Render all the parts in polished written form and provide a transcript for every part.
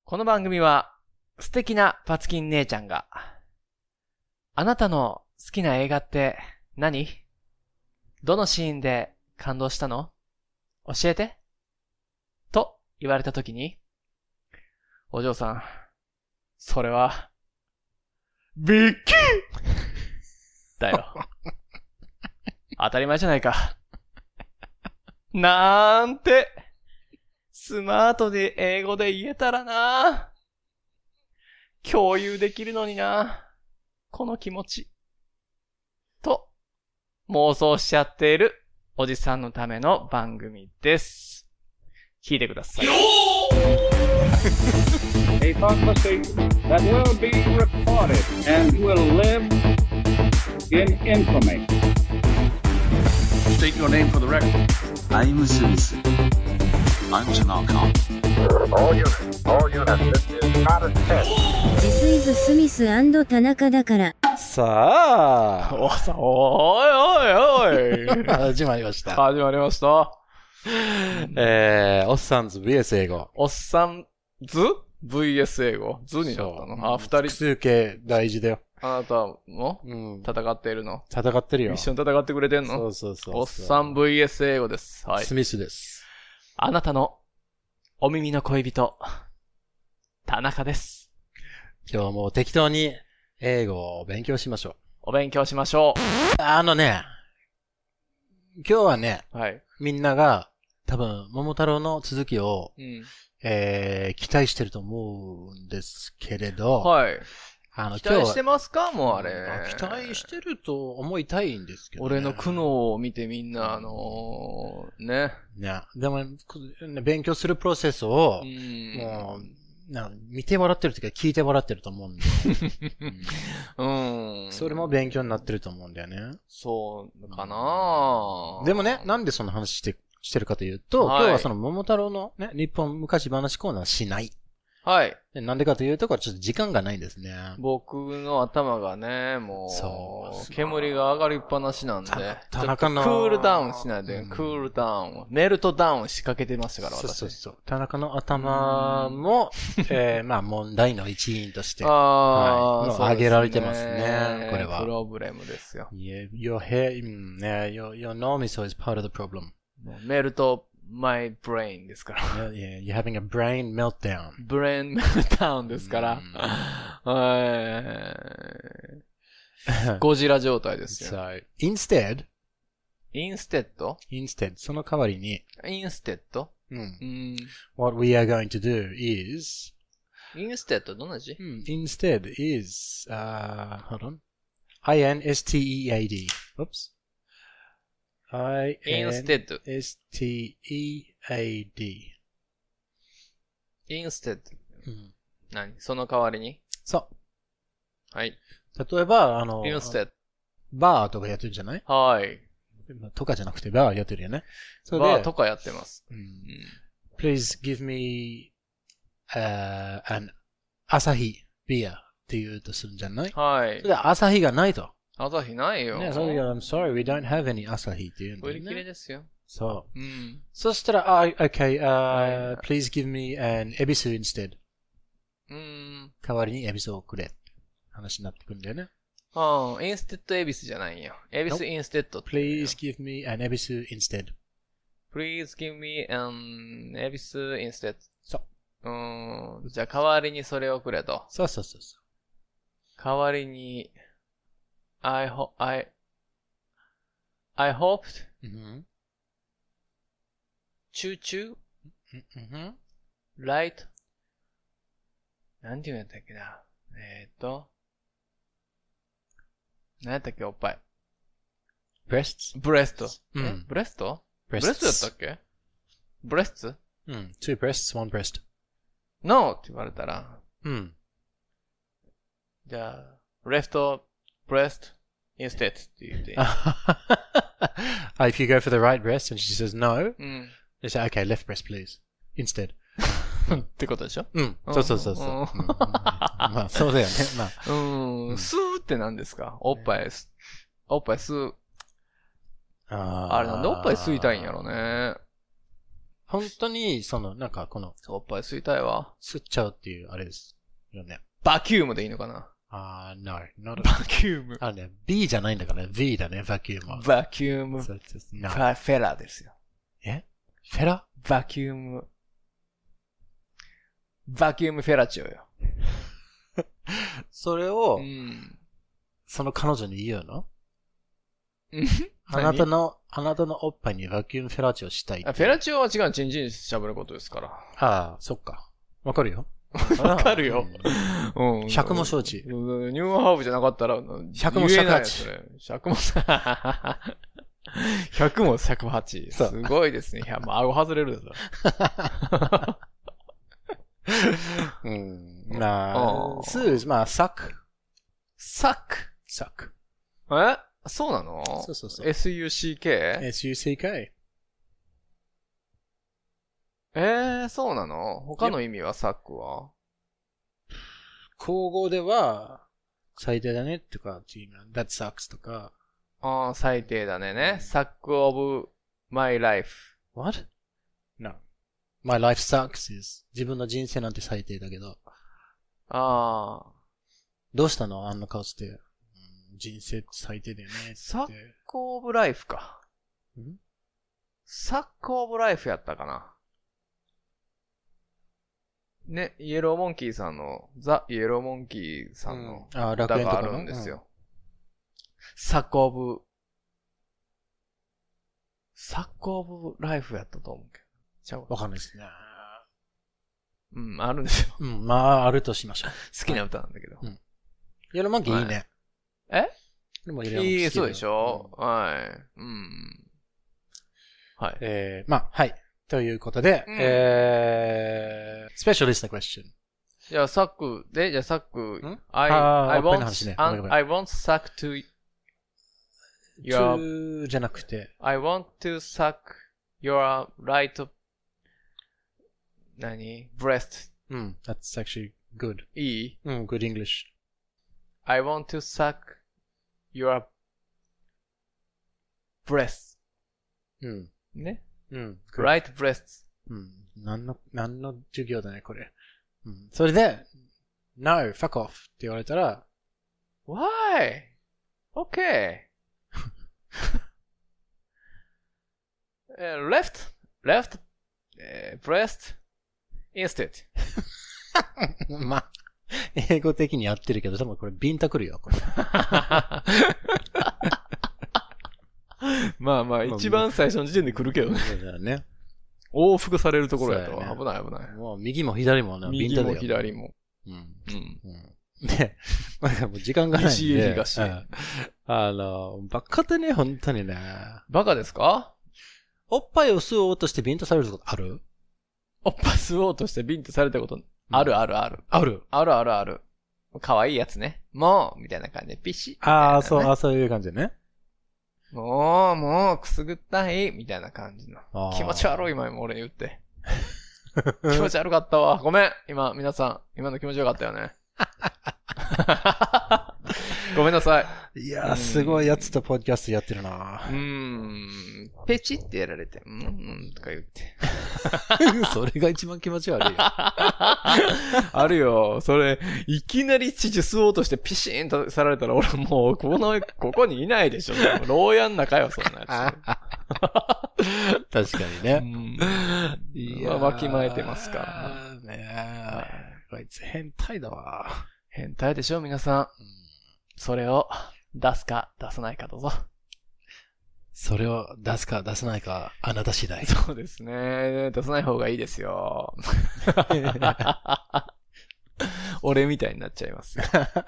この番組は素敵なパツキン姉ちゃんがあなたの好きな映画って何？どのシーンで感動したの？教えてと言われたときに、お嬢さん、それはビッキーだよ。当たり前じゃないか。なんてスマートで英語で言えたらな。共有できるのにな。この気持ち。と、妄想しちゃっているおじさんのための番組です。聞いてください。 A conversation that will be recorded and will live in infamy. State your name for the record. I'm Smith. I'm Tanaka. All units, this is not a test. This is Smith & 田中だから。 さあ、 おい。 始まりました。 始まりました。 おっさんず VS 英語。 おっさんず ?VS 英語。図になったの？あ、二人。 複数形大事だよ。 あなたも戦っているの？ 戦ってるよ。 一緒に戦ってくれてんの？ そう。 おっさん VS 英語です。はい。 スミスです。 あなたのお耳の恋人、田中です。 今日も適当に英語を勉強しましょう。 お勉強しましょう。 今日はね、 はい。 みんなが多分桃太郎の続きを、期待してると思うんですけれど、 はい。期待してまますか？もうあれ。 期待してると思いたいんですけど、ね。 俺の苦悩を見てみんな、ね。 ね。でも、勉強するプロセスを、もう、見てもらってるというか聞いてもらってると思うんで。それも勉強になってると思うんだよね。 そうかな。 でもね、なんでその話してるかというと、今日はその桃太郎のね、日本昔話コーナーしない。 はい。 なんでかというと、これちょっと時間がないんですね。 僕の頭がね、もう、煙が上がりっぱなしなんで、 田中のクールダウンしないで、クールダウン、メルトダウン仕掛けてましたから、私。 そう。田中の頭も、まあ問題の一員として、 挙げられてますね、これは。 プロブレムですよ。 Your脳みそ is part of the problem. メルトMy brain ですから。 Yeah, you're having a brain meltdown. brain meltdown ですから。ゴジラ状態ですよ。 So, instead, その代わりに what we are going to do is instead どんな字 ？instead is, hold on. I-N-S-T-E-A-D. Oops. I-N-S-T-E-A-D. instead. 何？その代わりに？ そう。 はい。 例えば、 instead。 バーとかやってるんじゃない？ はい。 とかじゃなくてバーやってるよね。 バーとかやってます。 Please give me, an アサヒビアって言うとするんじゃない？ はい。 それでアサヒがないと。 アサヒないよ。 ね、それで I'm sorry, we don't have any アサヒって言うんだよね。 売り切れですよ。 そう。そしたら、okay, please give me an エビス instead. 代わりにエビスをくれ。話になってくるんだよね。 インステッドエビスじゃないよ。エビスインステッド。 Please give me an エビス instead. Please give me an エビス instead. そう。 じゃあ代わりにそれをくれと。 そう。 代わりに、I hoped, choo-choo, light, なんて言うんやったっけな。何やったっけ、おっぱい。ブレスト。ブレストやったっけブレスト two breasts, one breast. No! って言われたら。じゃあ、left breast instead って言って。 If you go for the right breast and she says no, you say, okay, left breast please. Instead. ってことでしょ？ そう。まあ、そうだよね。まあ。 吸うって何ですか？おっぱい吸う。あれなんでおっぱい吸いたいんやろね。 本当に、なんかこの、 おっぱい吸いたいわ。 吸っちゃうっていう、あれですよね。 バキュームでいいのかな？ No, not バキューム。 ね、B じゃないんだから、V だね、バキュームは。 バキューム。 そうフェラですよ。 フェラ？ バキューム。バキュームフェラチオよ。 それを、 うん。 彼女に言うの？あ何なたのおっぱいにバキュームフェラチオしたいって。 フェラチオは違う、チンチンしゃぶることですから。 ああ、そっか。わかるよ。 わかるよ。 うん。100も承知。 ニューハーフじゃなかったら、 100も108。 100も、100も108。すごいですね。いや、もう顎外れるぞ。 うん。スー、まあ、サック。 サック。そうなの？ そうそう。 SUCK？ SUCK。 そうなの？他の意味はサックは？ 口語では、最低だねとか、that sucks とか。 最低だね。sack of my life. What? No. My life sucks is 自分の人生なんて最低だけど。どうしたの？あんな顔して。人生最低だよね。 サックオブライフか。サックオブライフやったかな。ね、イエローモンキーさんの、ザ・イエローモンキーさんの歌があるんですよ。サックオブライフやったと思うけど。ちゃうわかんないですね。 あるんですよ。 まあ、あるとしましょう。 好きな歌なんだけど。 イエローモンキーいいね。いいい、そうでしょ？はい。はい。 まあ、はい。ということで、special listener question。 じゃあ、サック、じゃあ、サック、I want suck to your, じゃなくて、 I want to suck your right, breast. That's actually good. いい good English. I want to suck your breast. ねright breasts. 何の授業だね、これ。それで、No, fuck off って言われたら、 Why? Okay. left, breast, instead. まあ、英語的にやってるけど、多分これビンタくるよ、これ。 まあ、一番最初の時点で来るけどね。 そうだよね。 往復されるところやと、危ない。 もう右も左もね、 右も左も。 で、なんかもう時間がないんで。 西へ東へ。 バカでね、本当にね。 バカですか？ おっぱいを吸おうとしてビンタされることある？ おっぱい吸おうとしてビンタされたことある。ある。可愛いやつね。もうみたいな感じでピシッ。 そういう感じでね。 もう、くすぐったい、みたいな感じの。気持ち悪い、今俺言って。気持ち悪かったわ。ごめん。皆さん、今の気持ちよかったよね。ごめんなさい。 いやー、すごいやつとポッドキャストやってるな。 ペチってやられて、とか言って。 それが一番気持ち悪いよ。 あるよ。それ、いきなり乳吸おうとしてピシーンとさられたら、俺もう、ここにいないでしょ。牢屋の中よ、そんなやつ。確かにね。 わきまえてますからね。こいつ変態だわ。 変態でしょ、皆さん。それを出すか出さないかどうぞ。 それを出すか出さないか、あなた次第。 そうですね。出さない方がいいですよ。俺みたいになっちゃいます。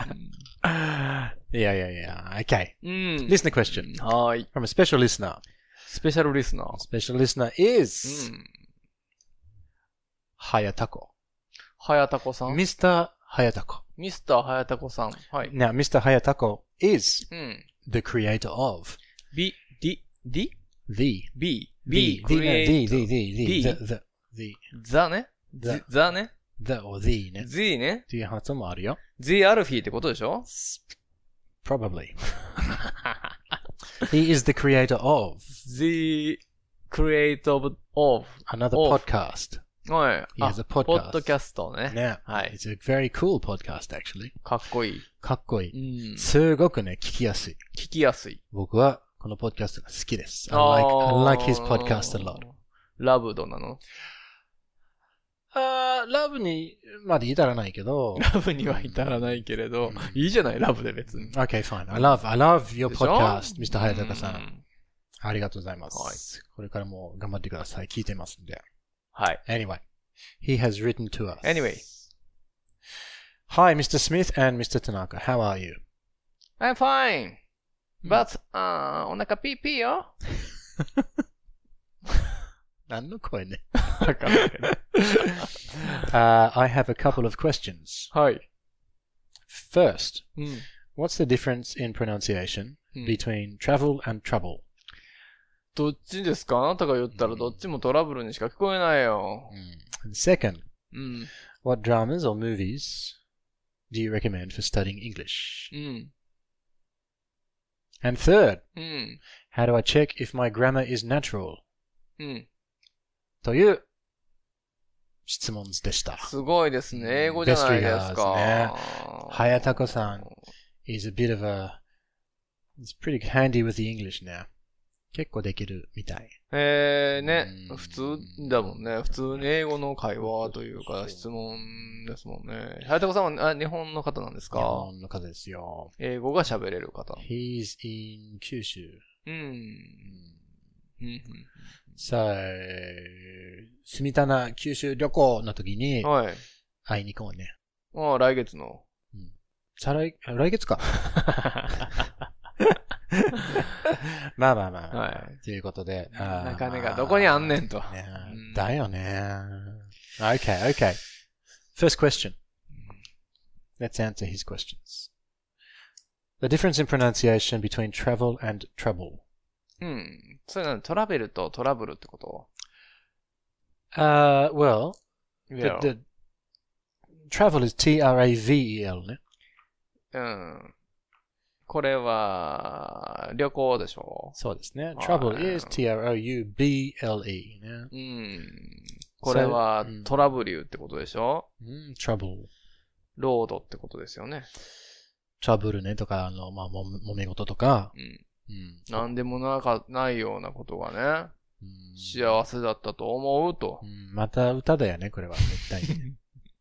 いや。Okay. Listener question. はい。 From a special listener. Special listener. Special listener is はやたこ。 はやたこさん。 Mr. はやたこ。 Mr. はやたこさん。はい。 Now, Mr. はやたこ is the creator of theね the or the ね the ねっていう発音もあるよ。 the アルフィーってことでしょ？ Probably. He is the creator of the create of, another Of. podcast. はい。 He has a ポ podcast. ッドキャストね。 ね。 はい。 It's a very cool podcast, actually. かっこいい。 かっこいい。 うん。 すごくね、聞きやすい。 聞きやすい。 僕はこのポッドキャストが好きです。I like his podcast a lot. ラブドなの？ ラブにまで至らないけど。 ラブには至らないけれど、いいじゃない、ラブで別に。 Okay, fine. I love your でしょ podcast, Mr. 早坂さ。 うんん。 ありがとうございます。これからも頑張ってください。聞いてますんで。 はい。 Anyway, he has written to us. Anyway. Hi, Mr. Smith and Mr. Tanaka. How are you? I'm fine. But, お腹ピーピーよ。 何の声ね。 わかんないけど。 I have a couple of questions. はい。 First, うん。 what's the difference in pronunciation うん between travel and trouble? どっちですか？あなたが言ったらどっちもトラブルにしか聞こえないよ。 And second, うん。 what dramas or movies do you recommend for studying English? うん。 And third, うん。 how do I check if my grammar is natural? うん。 という質問でした。 すごいですね。英語じゃないですか。 Best regards ね。早田子さん is a bit of a, he's pretty handy with the English now. 結構できるみたい。 ねう。ん普通だもんね。普通に英語の会話というか質問ですもんね。早田さんは日本の方なんです日か？ 本の方ですよ。 英語が喋れる方。 He's in 九州。 うん。うん。 さあ、住棚九州旅行の時にはい。 会いに行こうね。 ああ、来月の。 来月か。まあまあまあ。 はい。 ということで。 中根がどこにあんねんと。 ねうんだよね。Okay, okay. First question. Let's answer his questions. The difference in pronunciation between travel and trouble. うん。それなのトラベルとトラブルってこと？ Well, Yeah. the travel is T-R-A-V-E-L ね。 うん。これは、旅行でしょ？ そうですね。 はい Trouble is T-R-O-U-B-L-E ね。 うん。これはうんトラブリューってことでしょ？ Trouble。 ロードってことですよね。 トラブルねとか、まあ、揉め事とか。 うん。 うんなんでもないようなことがね、 うん幸せだったと思うとう。んまた歌だよね、これは。絶対に。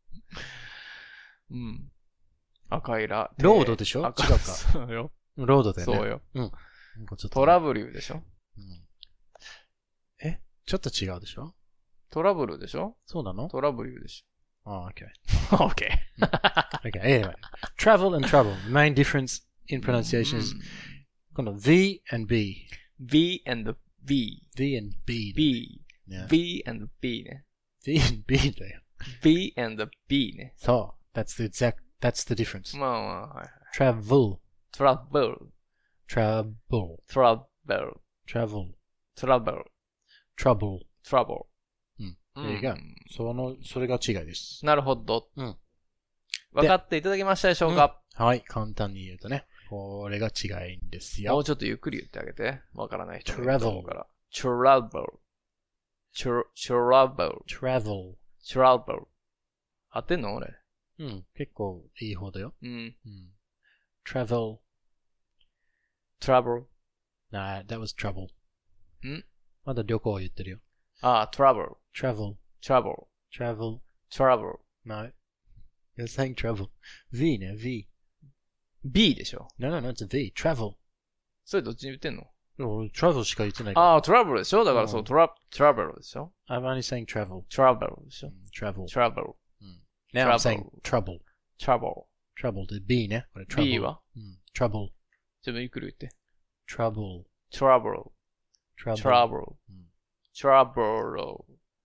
うん。赤いラ。 ロードでしょ赤違うかそうよ。 ロードだよね。 そうよ。 うん。ちょっとトラブリューでしょ？ うんちょっと違うでしょトラブルでしょ？ そうなのトラブリューでしああ、okay. ょ。OK。 Okay, anyway. Travel and trouble. The main difference in pronunciation is この V and B. V and B. V and B. B. ね V and B ね。 V and B だよ。 B and B ね。 そう。That's the difference. まあまあ、はい。 Travel. トラブル。 Trouble. トラブル。 Travel. トラブル。 Trouble. トラブル。 うん。There you go. それが違いです。 なるほど。 うん。 分かっていただけましたでしょうか？ はい。簡単に言うとね。これが違いんですよ。 もうちょっとゆっくり言ってあげて。わからない人 Travel がいると思うから。travel. travel. Travel. travel. 合ってんの俺。 うん。結構いい方だよ。 うん。 うん。Travel. travel. Nah, that was trouble. んまだ旅行を言ってるよ。 あ、travel. Travel. travel. Travel. travel. No. You're saying travel. V ね、V. B でしょ。 No, it's a V. Travel. それどっちに言ってんの？ 俺 travel しか言ってないから。 あ、travel でしょ？だからそう、travel でしょ？ I'm only saying travel. travel でしょ？ Travel. travel. Now I'm Travel. saying trouble. travel. Trouble で B ね。これ trouble. B は？ trouble. ちょっとゆっくり言って。 trouble. travel. trouble. travel. travel.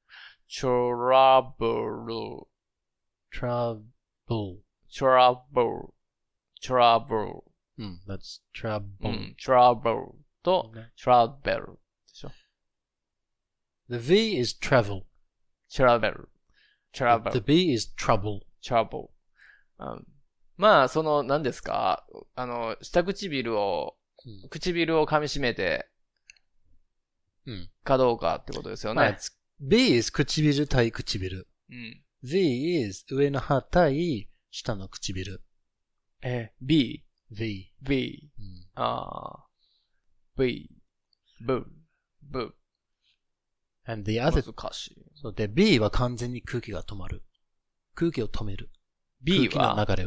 travel. trouble. travel. travel. That's trouble. うん。travel とね travel でしょ。 The V is travel. travel. The travel. B is trouble. travel. まあ、何ですか？下唇を噛み締めて、 うん。 かどうかってことですよね。 B is 唇対唇。 うん。 V is 上の歯対下の唇。 B、 V。 V、 うん、 V、ブ、ブ。 and the other 難しい。 そうで、B は完全に空気が止まる。空気を止める。 B 空は、 気の流れを。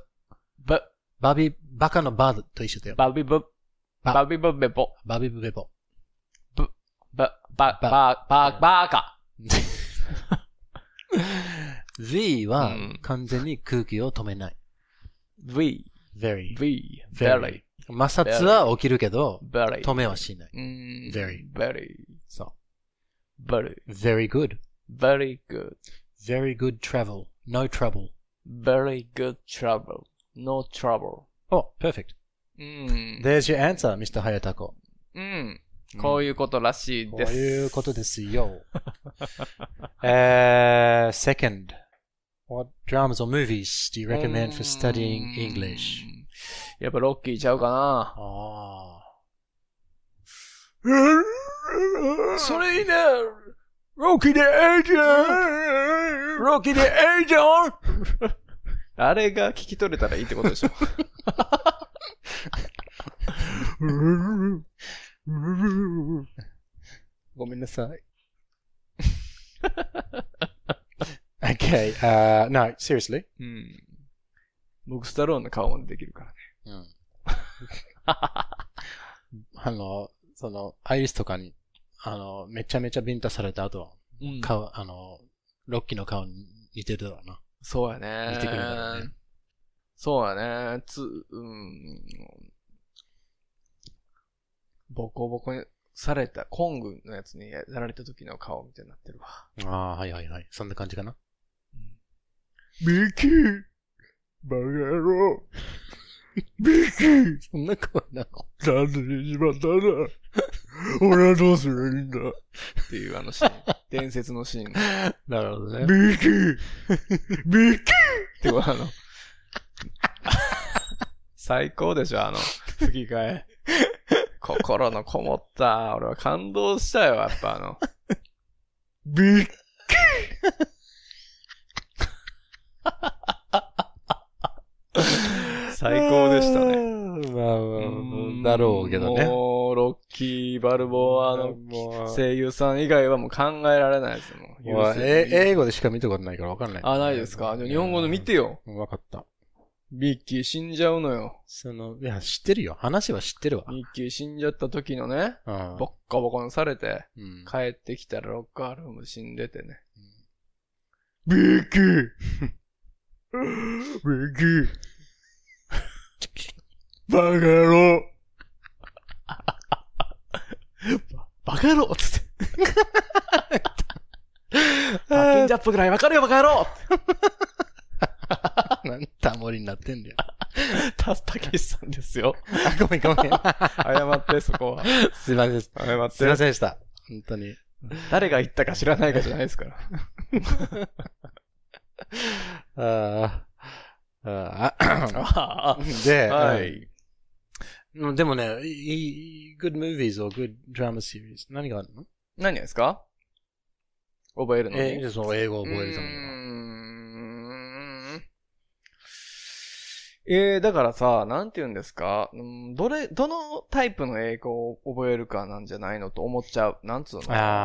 バカのバと一緒だよ。 バビブ、バビブベボ。 バビブベボ。 バカ。 V は完全に空気を止めない。 V、 very。 very。 摩擦は起きるけど、 very。 止めはしない。 very。 そう。 very good。 very good。 very good travel. No trouble. very good travel. No trouble. Oh, perfect. There's your answer, Mr. Hayatako. こういうことらしいです。 こういうことですよ。Second, what dramas or movies do you recommend for studying English? やっぱロッキーちゃうかな。それいいね。ロッキーでええじゃん。ロッキーでええじゃん。あれが聞き取れたらいいってことでしょ。ごめんなさい。 Okay, no, seriously. 僕スタローンの顔もできるからね。 アイリスとかに、めちゃめちゃビンタされた後、顔、ロッキーの顔に似てるだろうな。 そうやね。 似てくるだろうね。 そうやね。ボコボコにされた、コングのやつにやられた時の顔みたいになってるわ。 はいはいはい。そんな感じかな。 ミキーバカ野郎ミキーそんな声なの？ なんでねじまったんだ俺はどうすればいいんだっていうシーン。伝説のシーン。 なるほどね。 ミキーミキーって最高でしょ、吹き替え。心のこもった。俺は感動したよ、やっぱビッキー最高でしたね。 だろうけどね。 もう、ロッキー・バルボアの声優さん以外はもう考えられないですもん。 英語でしか見たことないから分かんない。 ないですか？日本語の見てよ。 分かった。 ミッキー死んじゃうのよ。 いや、知ってるよ。話は知ってるわ。 ミッキー死んじゃった時のね、ボッコボコにされて、帰ってきたらロッカールーム死んでてね。ミッキーミッキーバカ野郎バカ野郎つって。パッキンジャップぐらいわかるよバカ野郎なんタモリになってんだよ。 たけしさんですよ。 ごめん。謝って、そこは。 すいません。謝って。すいませんでした。本当に。 誰が言ったか知らないかじゃないですから。 で、 はい。 でもね、good movies or good drama series 何があるの？ 何ですか？覚えるのに？ 英語を覚えるためには。 だからさ、なんて言うんですか？どのタイプの英語を覚えるかなんじゃないのと思っちゃう。なんつうの？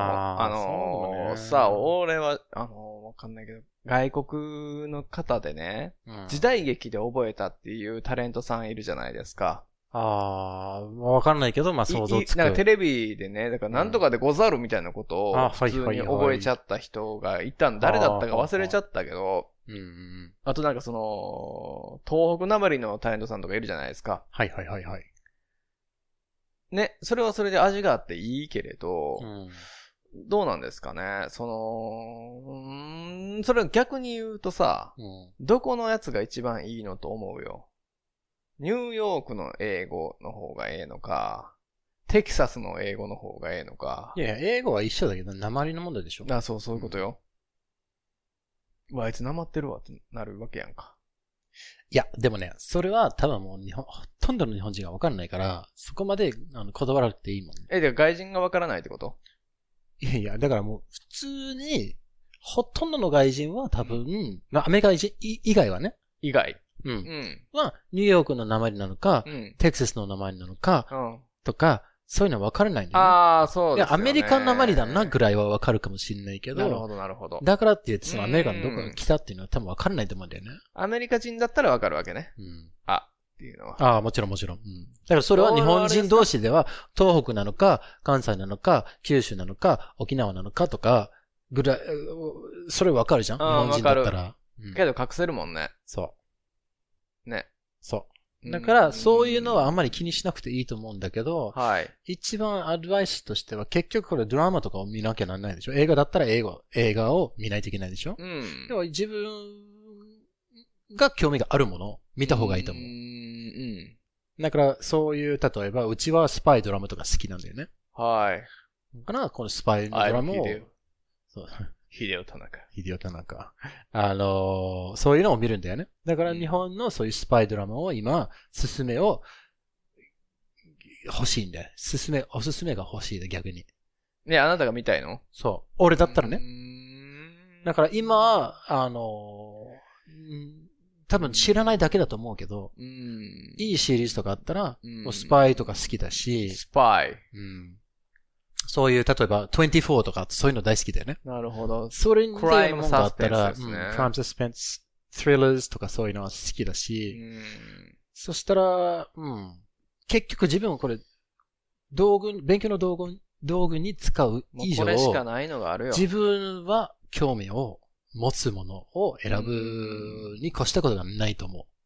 さ、俺は、わかんないけど、外国の方でね、時代劇で覚えたっていうタレントさんいるじゃないですか。 わかんないけど、想像つく。 なんかテレビでね、だからなんとかでござるみたいなことを普通に覚えちゃった人がいたん、誰だったか忘れちゃったけど、あとなんか東北なまりのタレントさんとかいるじゃないですか。 はい。 ね、それはそれで味があっていいけれど、どうなんですかね。それは逆に言うとさ、どこのやつが一番いいのと思うよ。ニューヨークの英語の方がええのか、テキサスの英語の方がええのか。 いや、英語は一緒だけど、訛りの問題でしょ。 そういうことよ。あいつ訛ってるわってなるわけやんか。 いや、でもね、それは多分もうほとんどの日本人がわかんないから、そこまでこだわらなくていいもんね。 で、外人がわからないってこと？ いやいや、だからもう普通に、ほとんどの外人は多分、アメリカ人以外はね。 以外。 うん。は、ニューヨークの名前なのか、テキサスの名前なのか、とか、そういうのは分からないんだよね。 ああ、そうですよね。 アメリカの名前だなぐらいは分かるかもしれないけど。 なるほど、なるほど。 だからって言って、そのアメリカのどこから来たっていうのは多分分からないと思うんだよね。 アメリカ人だったら分かるわけね。っていうのは。 ああ、もちろんもちろん。だからそれは日本人同士では、東北なのか、関西なのか、九州なのか、沖縄なのかとか、ぐらい、それ分かるじゃん日本人だったら。 けど隠せるもんね。 そう。 ね。 そう。だから、そういうのはあんまり気にしなくていいと思うんだけど、 はい。 一番アドバイスとしては、結局これドラマとかを見なきゃならないでしょ。映画だったら映画を見ないといけないでしょ。でも自分が興味があるものを見た方がいいと思う。だから、そういう、例えば、うちはスパイドラマとか好きなんだよね。 はい。 だから、このスパイドラマを、そう。 ヒデオ田中。 そういうのを見るんだよね。だから日本のそういうスパイドラマを今、おすすめが欲しいで逆に。 ね、あなたが見たいの？ そう。俺だったらね。だから今、多分知らないだけだと思うけど、いいシリーズとかあったら、もうスパイとか好きだし、 スパイ。 そういう、例えば、24とか、そういうの大好きだよね。 なるほど。 それに似たようなものがあったら、 クライムサスペンス、スリラーズとかそういうのは好きだし、そしたら、結局自分はこれ、勉強の道具に使う以上、 これしかないのがあるよ。 自分は興味を持つものを選ぶに越したことがないと思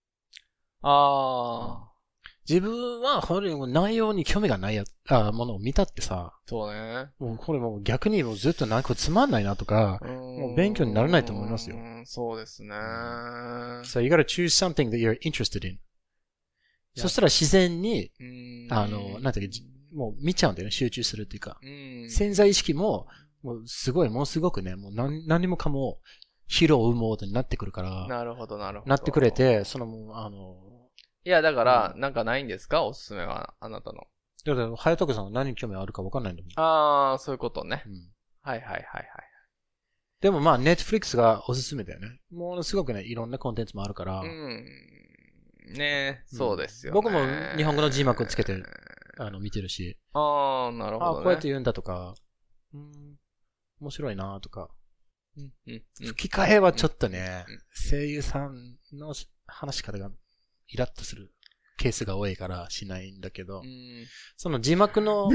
う。自分は、内容に興味がないものを見たってさ。 そうね。 もうこれもう逆にもうずっとなんかつまんないなとか、もう勉強にならないと思いますよ。 そうですね。 So you gotta choose something that you're interested in. そしたら自然に、なんていうか、もう見ちゃうんだよね。集中するっていうか。潜在意識も、もうすごくね、もう何もかも、広を生もうとになってくるから。 なるほど。なってくれて、 いや、だから、なんかないんですか？おすすめは、あなたの。 だから、早徳さんが何に興味あるか分かんないんだもん。 ああ、そういうことね。はい。 でもまあ、ネットフリックスがおすすめだよね。ものすごくね、いろんなコンテンツもあるから。 ね、そうですよね。 僕も日本語の字幕つけて、見てるし。 ああ、なるほどね。 こうやって言うんだとか、面白いなとか。吹き替えはちょっとね、声優さんの話し方がイラッとするケースが多いからしないんだけど、その字幕の、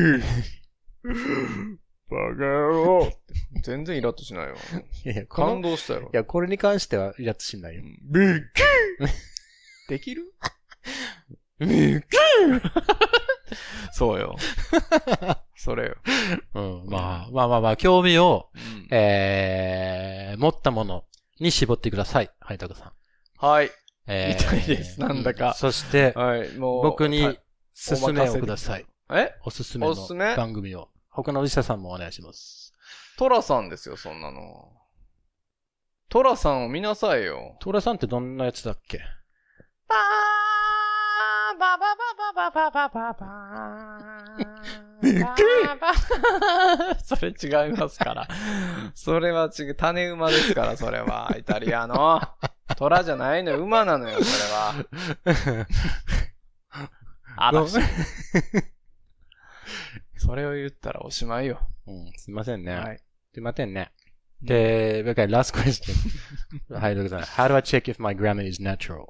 バカ野郎全然イラッとしないよ。感動したよ。 いや、これに関してはイラッとしないよ。 できるそうよ。それよ。 まあ、興味を、持ったものに絞ってください。はい、タカさん。 はい。みたいです。なんだか。 そして、 はい、もう僕に勧めをください。おすすめのおすすめ番組を。他のお医者さんもお願いします。 トラさんですよ、そんなの。トラさんを見なさいよ。 トラさんってどんなやつだっけ？ バーバババババババババーそれ違いますから。それは違う。種馬ですから、それは。イタリアの。トラじゃないのよ。馬なのよ、それは。嵐。それを言ったらおしまいよ。 すいませんね。 はい。 すいませんね。で、okay, last question. はい、どうぞ。How do I check if my grammar is natural?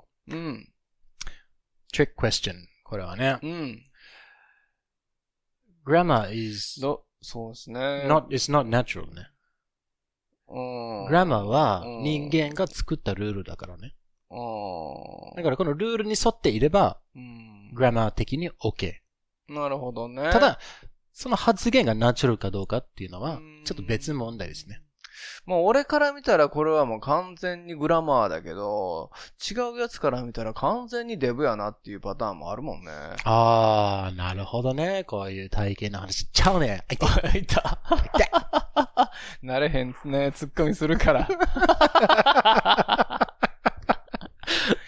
Trick question. これはね。grammar is そうですね。 it's not natural ね。grammar は人間が作ったルールだからね。だからこのルールに沿っていれば、grammar 的に OK。 なるほどね。 ただ、その発言がナチュラルかどうかっていうのは、ちょっと別問題ですね。 もう俺から見たらこれはもう完全にグラマーだけど、違うやつから見たら完全にデブやなっていうパターンもあるもんね。 あー、なるほどね。こういう体型の話ちゃうね。 いた。なれへんね。ツッコミするから。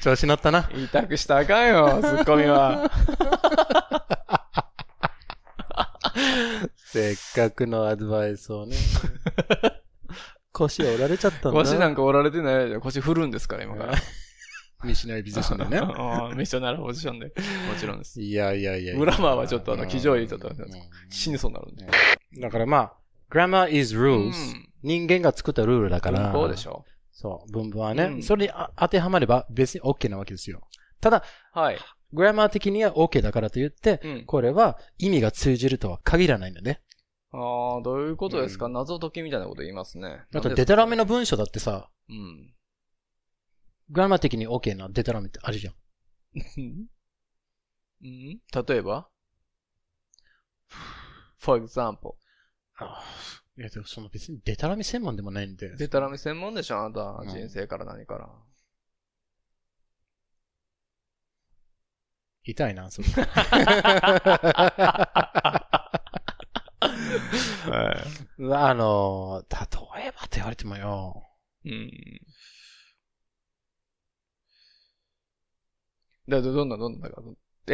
調子乗ったな。 痛くしたらあかんよ、ツッコミは。 せっかくのアドバイスをね。腰折られちゃったんだ。 腰なんか折られてないで、腰振るんですから、今から。 ミッショナリーポジションでね。 ミッショナルポジションで。もちろんです。 いや。 グラマーはちょっと騎乗位ちょっと死にそうになるんで。 だからまあ、grammar is rules、人間が作ったルールだから。 そうでしょ。 そう、文法はね。それに当てはまれば別に OK なわけですよ。ただ、 はい。 グラマー的には OK だからと言って、これは意味が通じるとは限らないんだね。 ああ、どういうことですか、謎解きみたいなこと言いますね。 あと、デタラメの文章だってさ、グラマー的に OK なデタラメってあるじゃん。 例えば ?for example。 いや、でもその別にデタラメ専門でもないんで。 デタラメ専門でしょあなた、人生から何から。 痛いな、それ。例えばって言われてもよ。 どんなだから。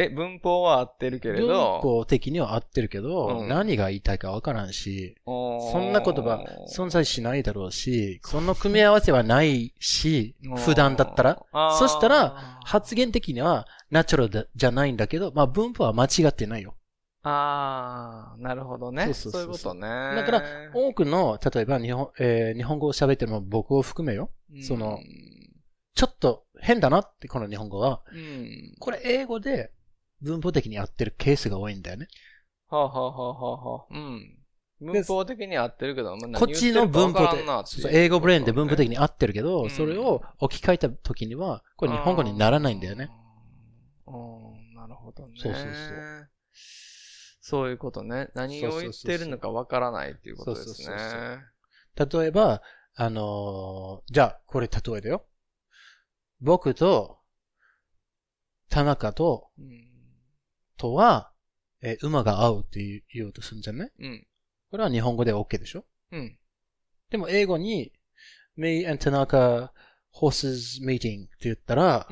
文法は合ってるけれど。 文法的には合ってるけど、何が言いたいかわからんし、そんな言葉存在しないだろうし、その組み合わせはないし、普段だったら。そしたら、発言的にはナチュラルじゃないんだけど、まあ文法は間違ってないよ。 なるほどね。そういうことね。 だから、多くの、例えば日本語を喋ってるのも僕を含めよ。ちょっと変だなって、この日本語は。これ英語で文法的に合ってるケースが多いんだよね。 文法的に合ってるけど、 こっちの文法で、英語ブレーンで文法的に合ってるけど、それを置き換えた時には、これ日本語にならないんだよね。 なるほどね。 そう。 そういうことね。何を言ってるのかわからないっていうことですね。 例えば、じゃあ、これ例えだよ。僕と、田中とは、馬が合うって言おうとするんじゃない？これは日本語で OK でしょ？でも英語に、me and 田中 horses meeting って言ったら、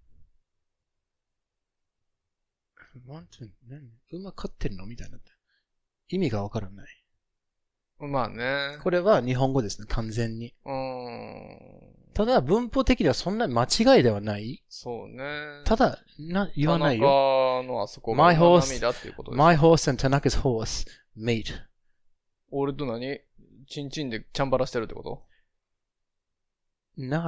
馬飼ってるのみたいな。意味がわからない。 まあね。 これは日本語ですね、完全に。ただ、文法的にはそんな間違いではない。 そうね。 ただ、言わないよ。 田中のあそこが涙っていうことです。 My horse and Tanaka's horse meet. 俺と何チンチンでチャンバラしてるってこと？ No.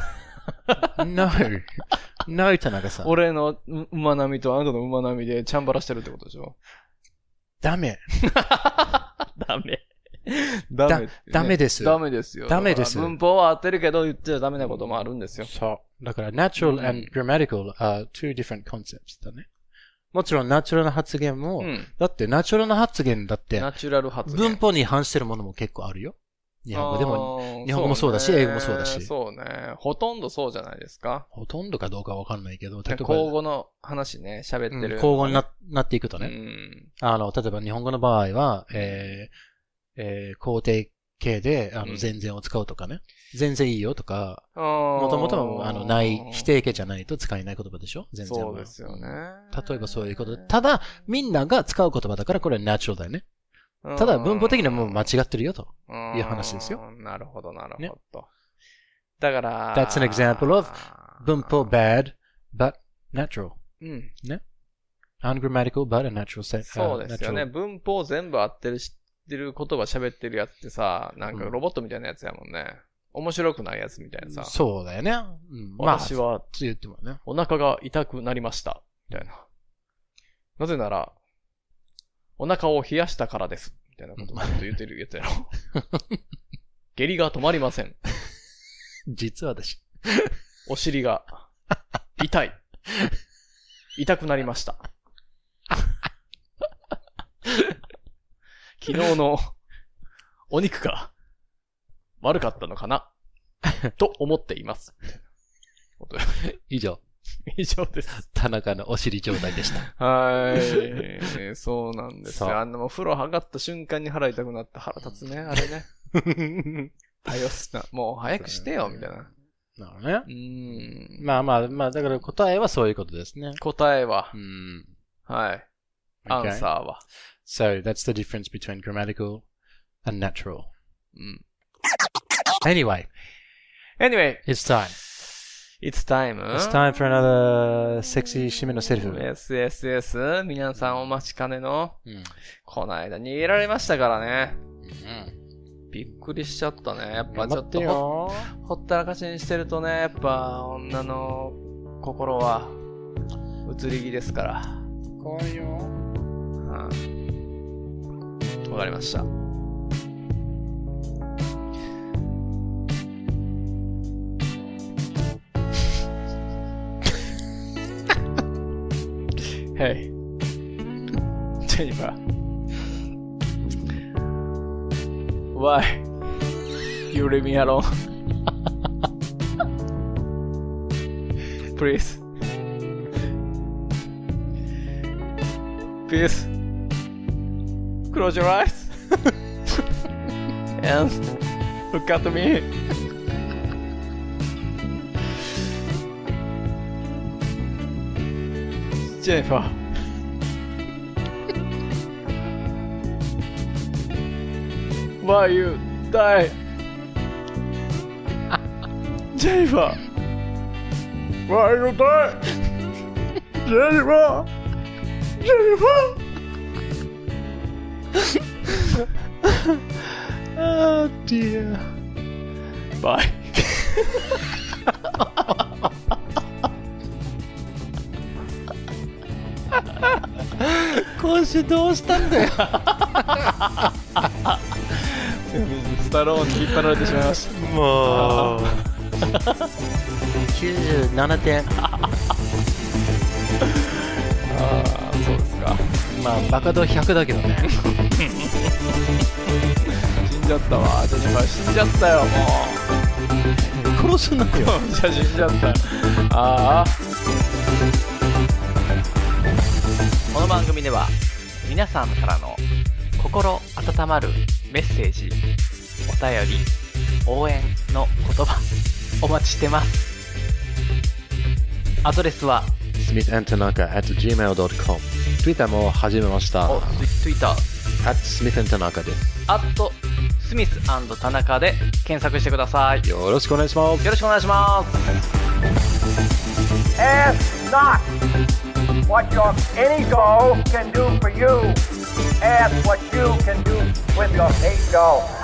No, 田中さん。 俺の馬並みとあなたの馬並みでチャンバラしてるってことでしょ？ ダメ。 ダメです。 ダメですよ。ダメです。 文法は合ってるけど言っちゃダメなこともあるんですよ。 そう。だから natural and grammatical are two different concepts だね。もちろんナチュラルな発言も、だってナチュラルな発言だって、 ナチュラル発言。文法に反してるものも結構あるよ。日本語でも、日本語もそうだし、英語もそうだし。 そうね。ほとんどそうじゃないですか。 ほとんどかどうかわかんないけど、例えば。 口語の話ね、喋ってる。 口語になっていくとね。例えば日本語の場合は、肯定形で、全然を使うとかね。全然いいよとか、もともとない、否定形じゃないと使えない言葉でしょ？全然は。 そうですよね。 例えばそういうことで。ただ、みんなが使う言葉だからこれはナチュラルだよね。ただ、文法的にはもう間違ってるよという話ですよ。 なるほど。ね、だから、 That's an example of 文法 bad, but natural. ね。ungrammatical, but a natural set. そうですよね。文法全部合ってる知ってる言葉喋ってるやつってさ、なんかロボットみたいなやつやもんね。面白くないやつみたいなさ。 そうだよね。 私は、 言ってもね。 お腹が痛くなりました。みたいな。なぜなら、お腹を冷やしたからです。みたいなことをずっと言ってるやつやろ。下痢が止まりません。 実は私。 お尻が痛い。痛くなりました。昨日のお肉が悪かったのかなと思っています。 以上です。 田中のお尻状態でした。 はい。そうなんですよ。もう風呂上がった瞬間に腹痛くなって腹立つね、あれね。もう早くしてよ、みたいな。 なるほどね。まあ、だから答えはそういうことですね。 答えは。はい。 Okay. アンサーは。 So, that's the difference between grammatical and natural. Anyway, it's time. It's time. It's time for another sexy 締めのセリフ。 yes. 皆さんお待ちかねの、この間逃げられましたからね。びっくりしちゃったね。やっぱちょっとほったらかしにしてるとね、やっぱ女の心は移り気ですから。 怖いよ。 わかりました。Hey, Jennifer. Why you leave me alone? Please. Close your eyes and look at me. Jennifer. Why you die? Jennifer. Why you die? Jennifer. Oh dear. Bye. 今週どうしたんだよ。 スタローンに引っ張られてしまいました。 もう97点。 そうですか。 まあバカ度100だけどね。 死んじゃったわ。ジェニファー死んじゃったよ。もう殺すなよ。 じゃあ死んじゃったよ。ああ。この番組では皆さんからの心温まるメッセージ、お便り、応援の言葉お待ちしてます。アドレスは smithandtanaka@gmail.com。 Twitter も始めました。 Twitter @smithandtanaka です。 スミス&田中で検索してください。 よろしくお願いします。 よろしくお願いします。 Ask not what your any doll can do for you. Ask what you can do with your ego.